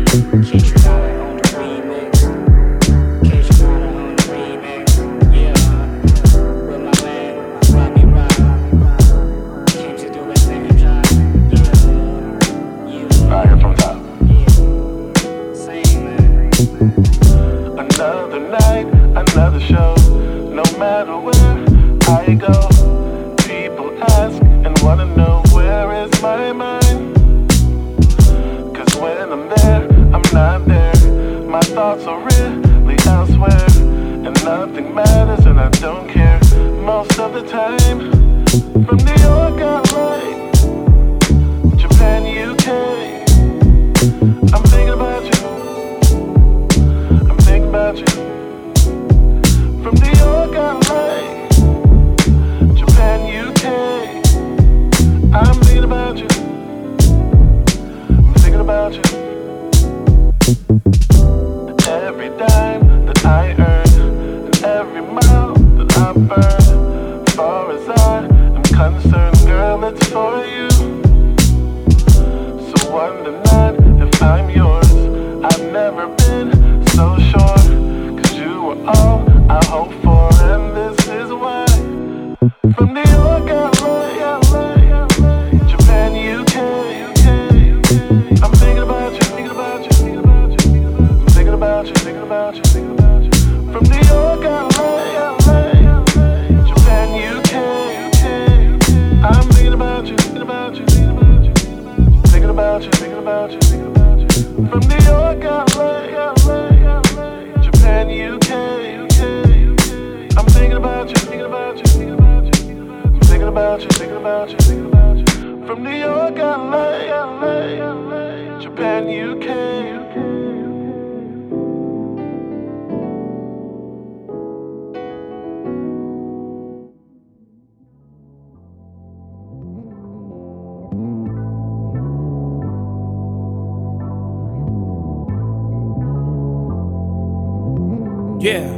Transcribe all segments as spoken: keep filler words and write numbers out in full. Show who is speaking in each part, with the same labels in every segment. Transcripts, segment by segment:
Speaker 1: Yeah.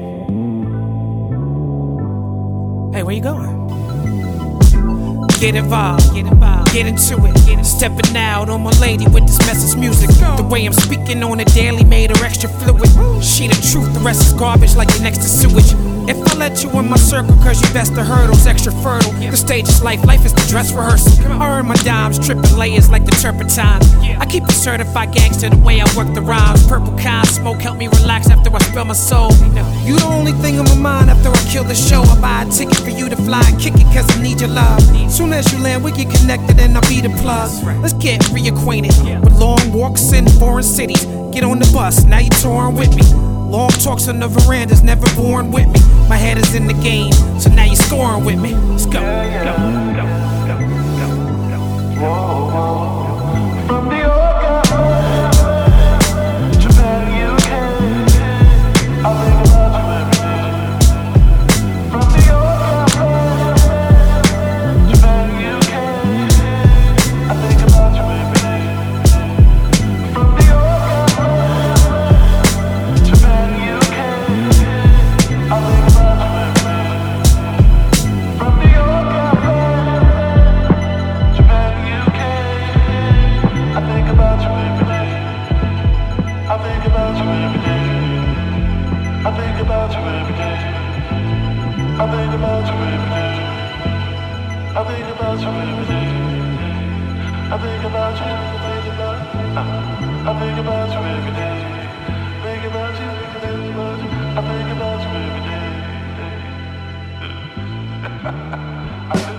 Speaker 1: Hey, where you going? Get involved, get involved, get into it. Get Stepping out on my lady with this message music. The way I'm speaking on it daily made her extra fluid. She the truth, the rest is garbage like you're next to sewage. If I let you in my circle cause you best the hurdles, extra fertile. The stage is life, life is the dress rehearsal. I earn my dimes, tripping layers like the turpentine. I keep a certified gangster the way I work the rhymes. Purple kind smoke help me relax after I spill my soul. You the only thing on my mind after I kill the show. I buy a ticket for you to fly and kick it cause I need your love. Soon as you land we get connected and I'll be the plug. Let's get reacquainted with long walks in foreign cities. Get on the bus, now you touring with me. Long talks on the verandas, never born with me. My head is in the game, so now you're scoring with me. Let's go.
Speaker 2: Yeah, yeah. Go, go, go, go, go, go. Whoa, whoa. From New York, Japan, U K, I think about you every day. From New York, Japan, U K, I think about you every day. From New York, Japan, U K, I think about you every day. From New York, Japan, U K, I think about you every day. I think about you every day. I think about you every day. I think about you every day. I think about you every day. I think about you, think about, I think about you every day. Think about you, think about you. I think about you every day. I think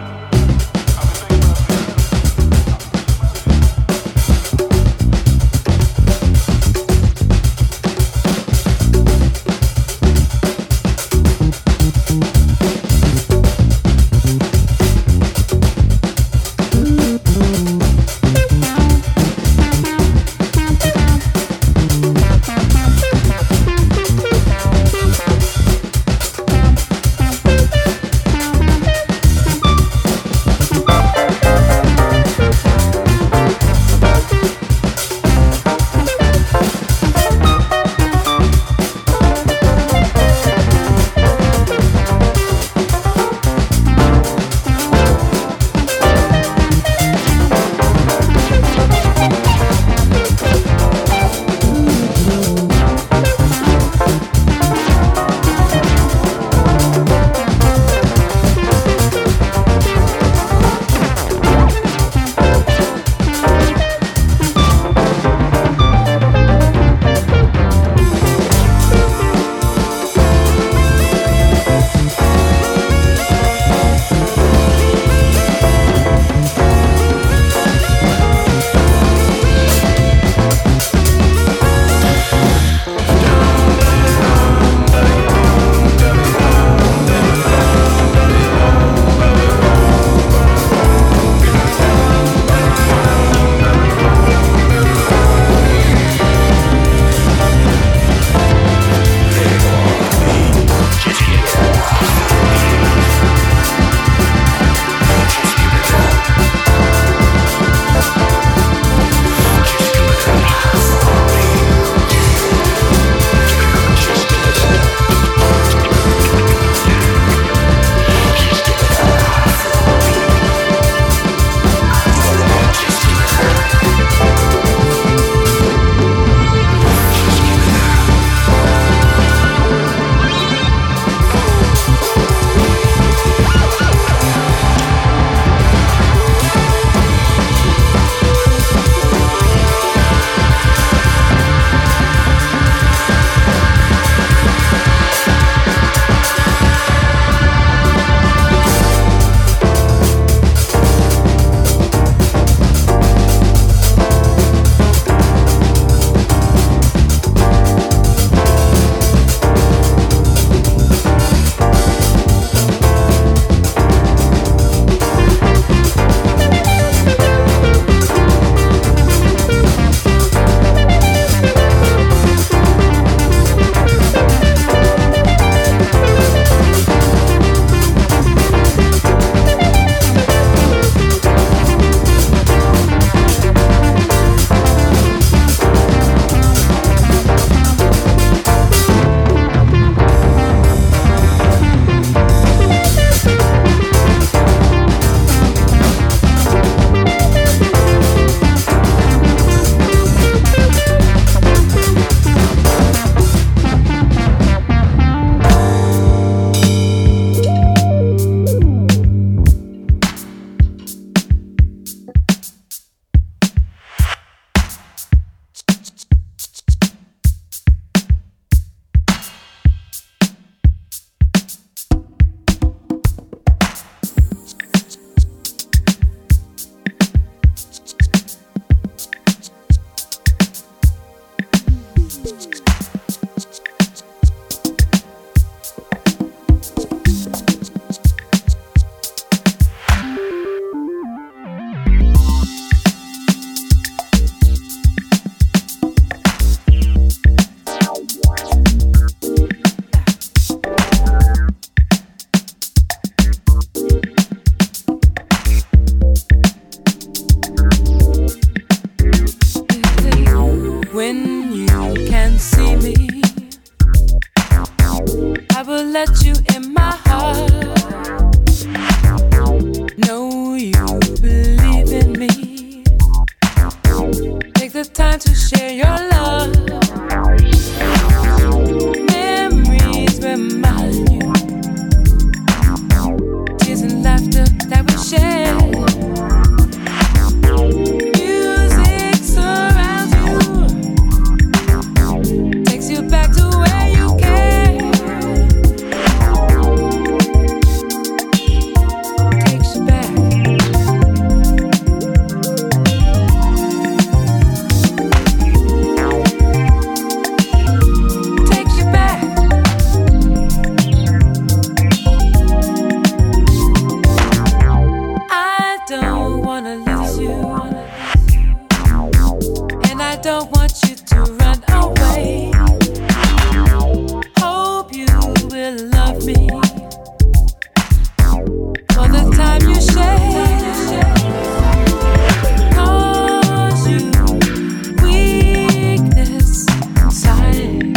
Speaker 3: When you can see me, I will let you in my heart. Know you believe in me. Take the time to share your love. Memories remind you, tears and laughter that we share. Music surrounds you, takes you back to where you came. Takes you back. Takes you back. I don't wanna lose you, and I don't want you to run away. Hope you will love me for the time you share. Cause you weakness inside.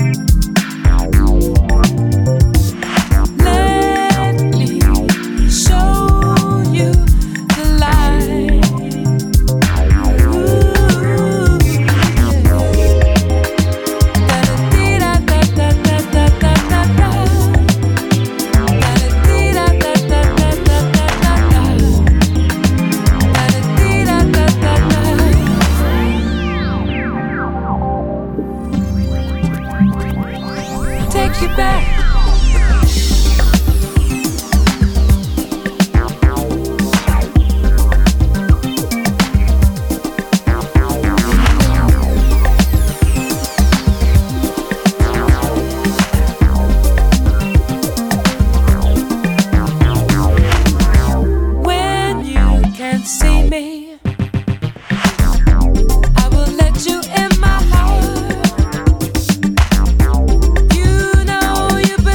Speaker 3: Let me show you the light. Ooh, take you back. When you can see me, I will let you in my heart. You know you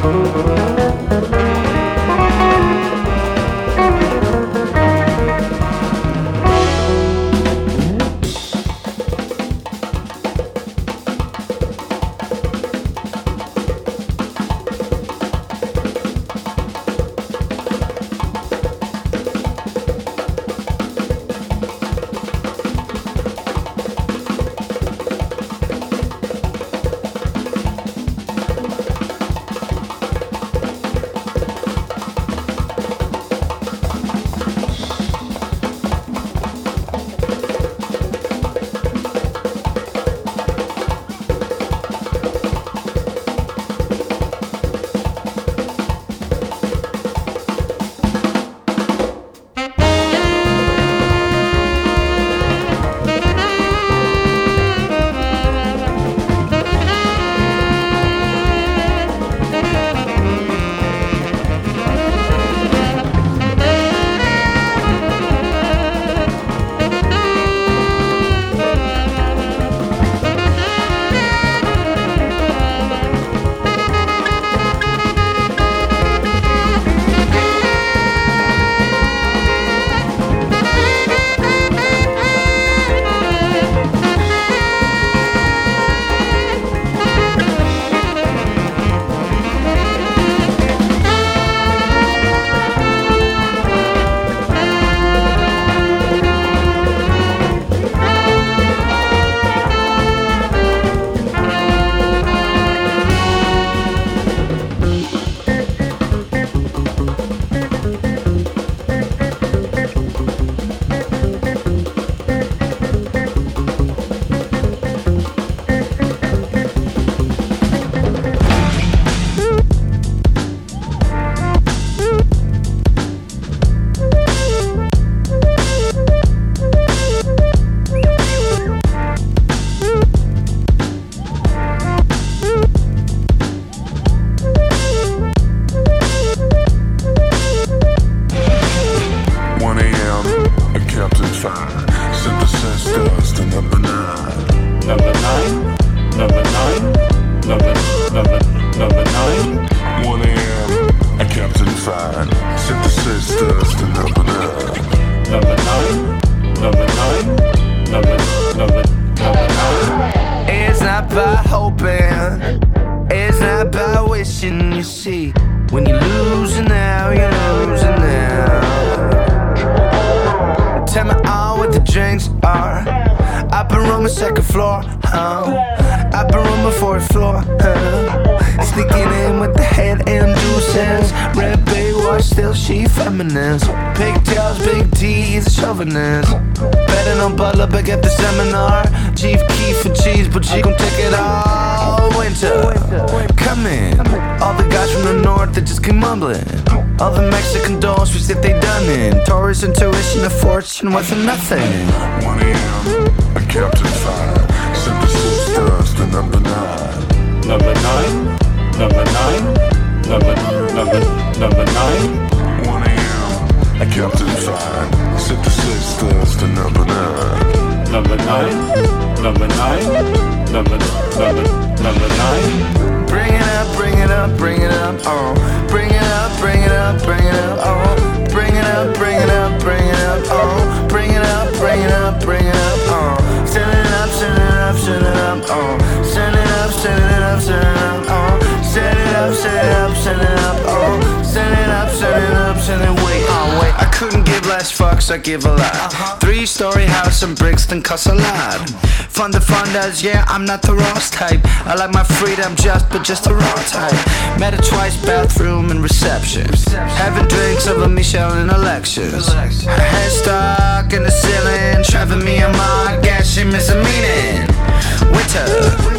Speaker 4: With nothing. one a.m. a Captain Fire. Synthesis dust and number nine.
Speaker 5: Number nine. Number nine. Number number number nine.
Speaker 4: one a.m. a Captain Fire. Synthesis dust and number nine.
Speaker 5: Number nine. Number nine. Number number number nine.
Speaker 6: Bring it up, bring it up, bring it up. Oh, bring it up, bring it up, bring it up. Oh, bring it up, bring it up, bring it up. Oh. Bring it up, bring it up, bring it up, oh. Send it up, send it up, send it up, oh. Send it up, send it up, send it up, oh. Send it up, send it up, send it up, oh. Send it up, send it up, send it, wait, oh, wait. I couldn't give less fucks, I give a lot. Uh-huh. Three-story house in Brixton costs a lot. Fun to fun does, yeah, I'm not the Ross type. I like my freedom just, but just the raw type. Met her twice, bathroom and reception. Having drinks over Michelle in elections. Her head stuck in the ceiling, driving me a mile. Guess she missing meaning. Winter,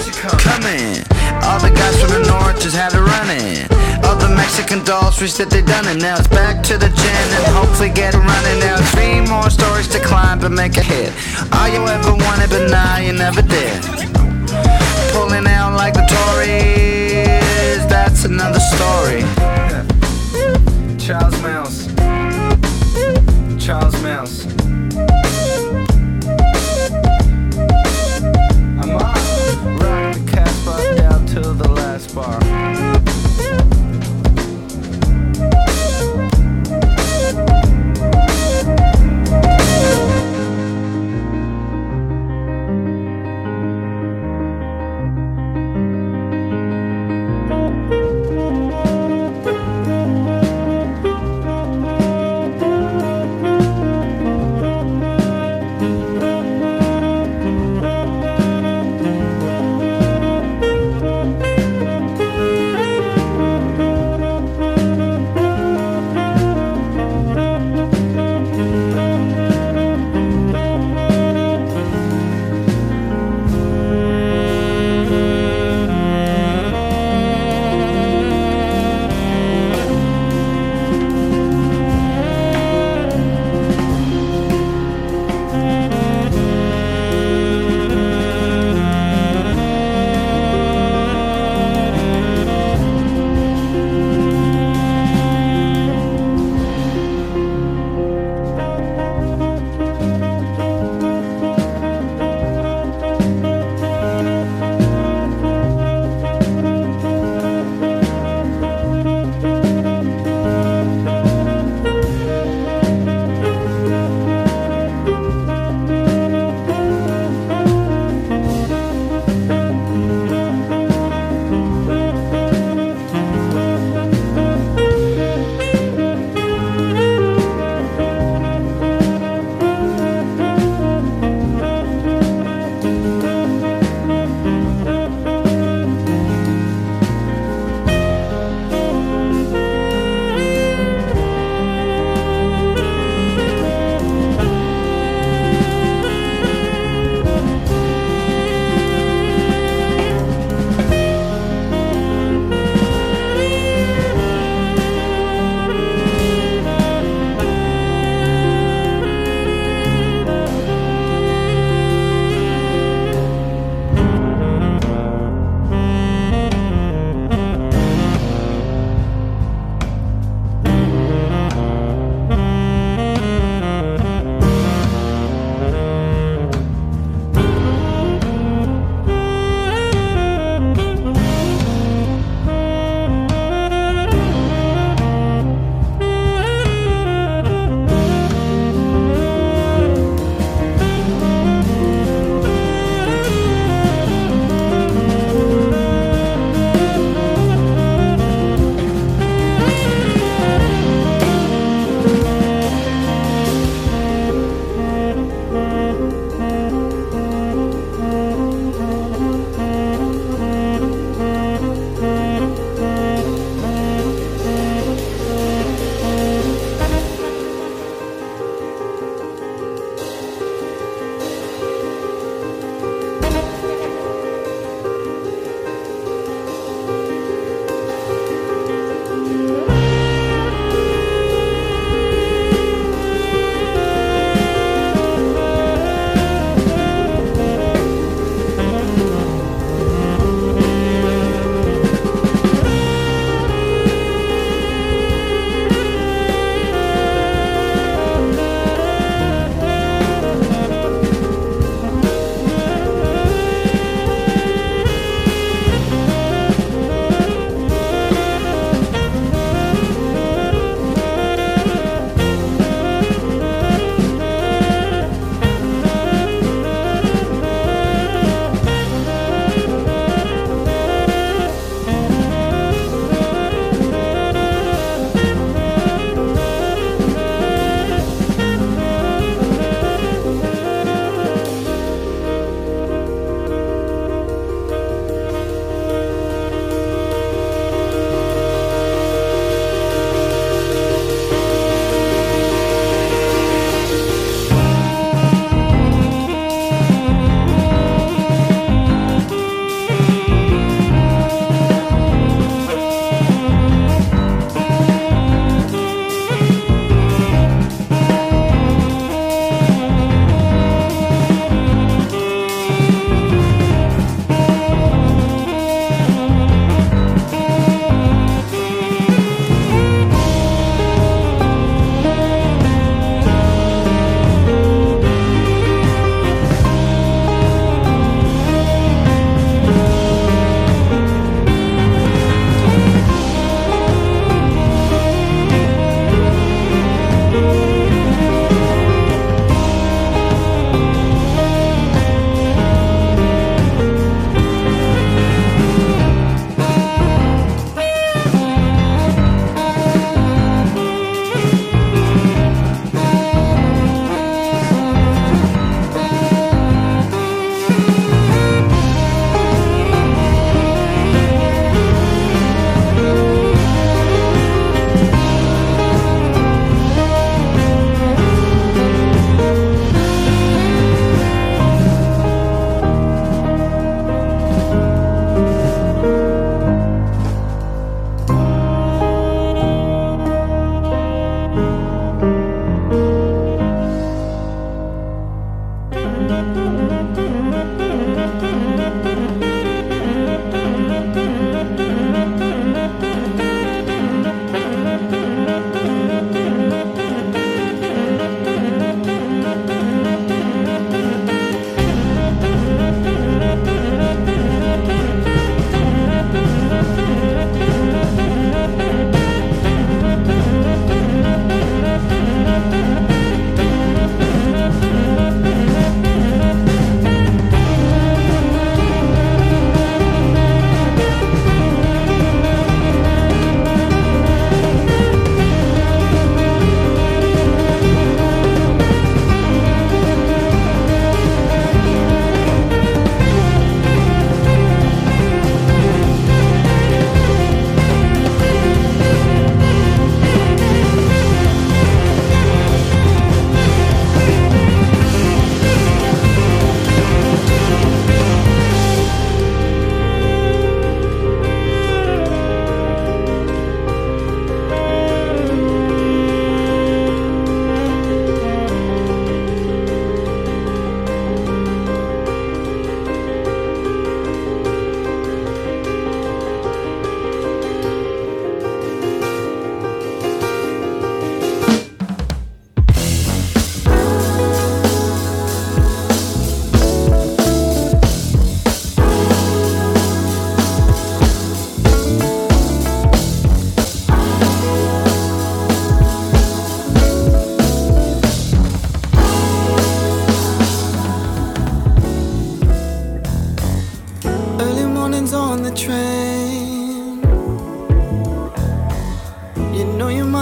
Speaker 6: coming. All the guys from the north just had to run it. All the Mexican dolls wish that they done it. Now it's back to the gym and hopefully get it running. Now three more stories to climb but make a hit. All you ever wanted but now you never did. Pulling out like the Tories, that's another story. Charles Mouse, Charles Mouse. I'm on, rock the Casbah down to the last bar.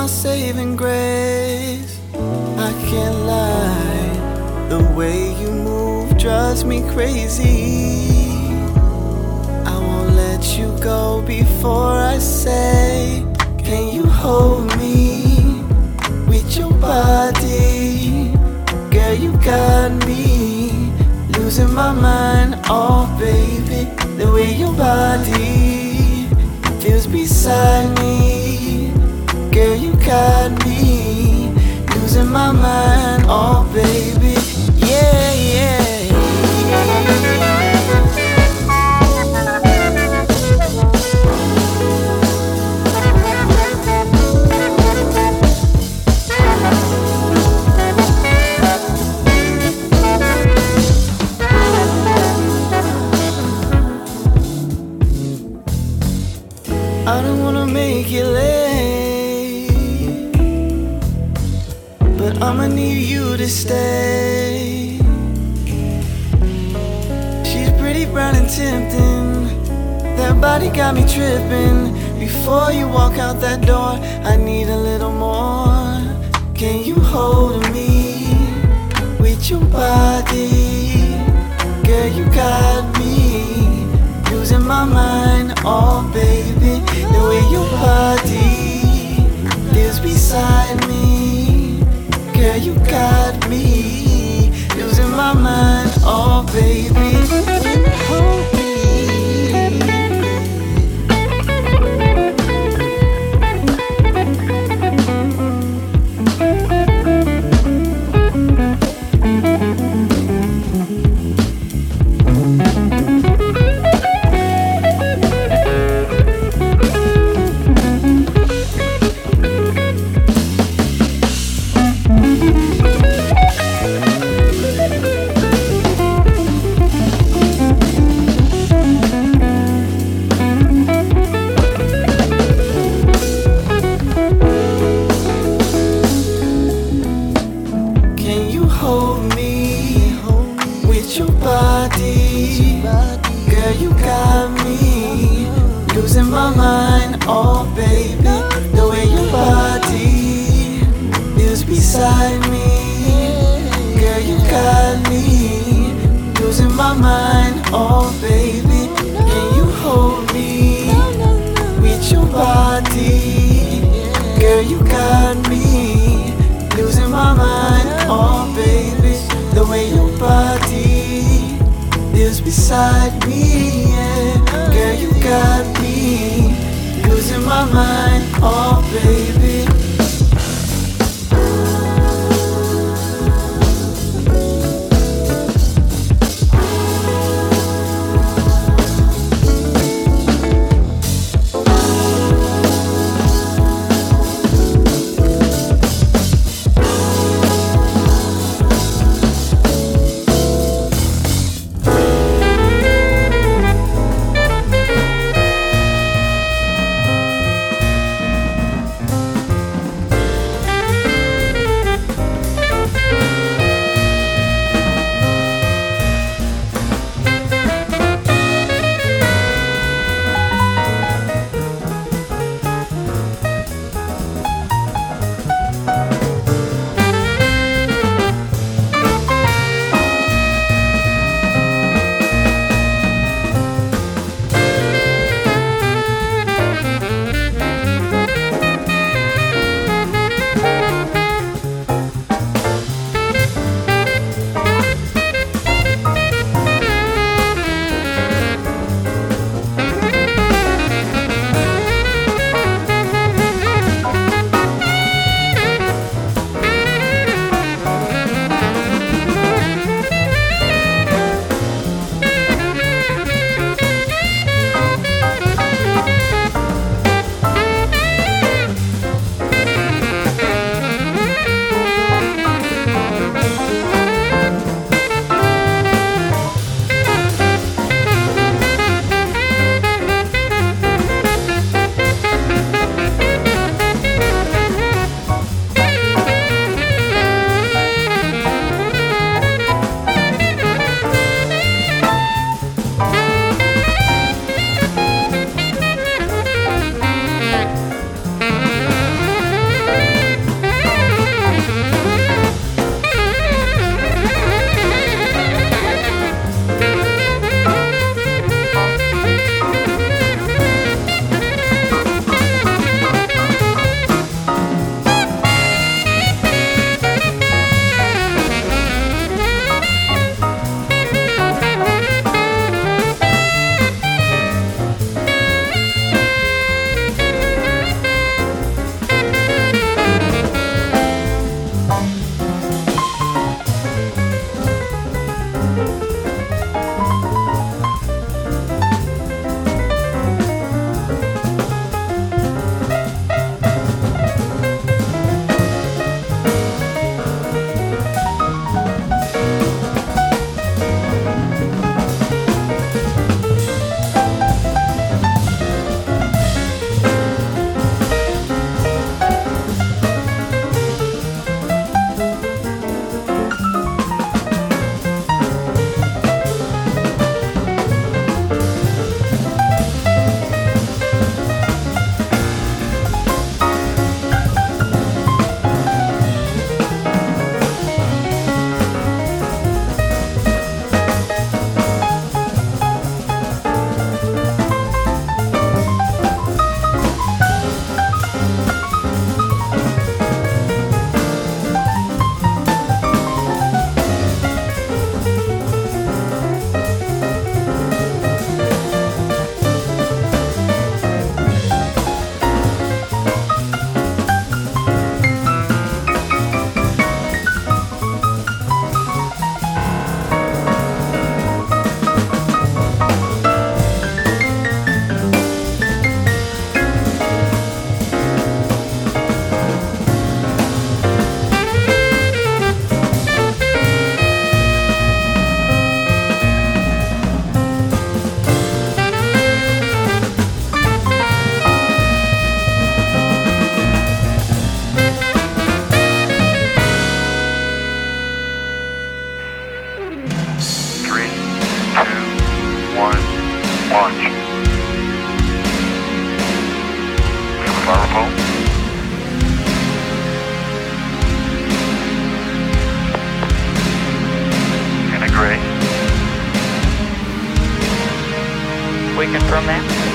Speaker 6: my saving grace. I can't lie, the way you move drives me crazy. I won't let you go before I say, can you hold me with your body? Girl, you got me losing my mind, oh baby. The way your body feels beside me. Girl, you got me losing my mind, oh baby. Yeah, yeah, yeah. I don't wanna make it late, but I'ma need you to stay. She's pretty brown and tempting, that body got me tripping. Before you walk out that door, I need a little more. Can you hold me with your body? Girl, you got me losing my mind, oh baby. The way your body lives beside me. Girl, you got me losing my mind, oh baby. Hold me. Girl, you got me losing my mind, oh baby. The way your body is beside me. Girl, you got me losing my mind, oh baby. Can you hold me with your body? Girl, you got me losing my mind, oh baby. The way your body is beside me, yeah. Girl, you got me losing my mind, oh baby.
Speaker 7: confirm that?